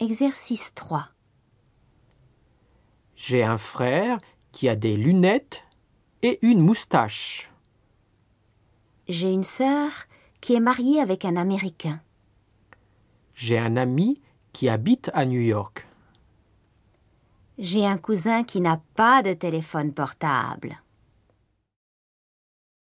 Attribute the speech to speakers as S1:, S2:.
S1: Exercice 3.
S2: J'ai un frère qui a des lunettes et une moustache.
S1: J'ai une sœur qui est mariée avec un Américain.
S2: J'ai un ami qui habite à New York.
S1: J'ai un cousin qui n'a pas de téléphone portable.